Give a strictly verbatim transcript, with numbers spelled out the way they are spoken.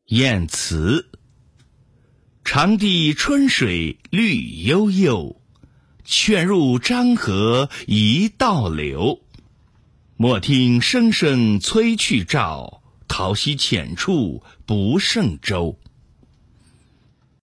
燕词。长堤春水绿悠悠，劝入漳河一道流。莫听声声催去棹，桃溪浅处不胜舟。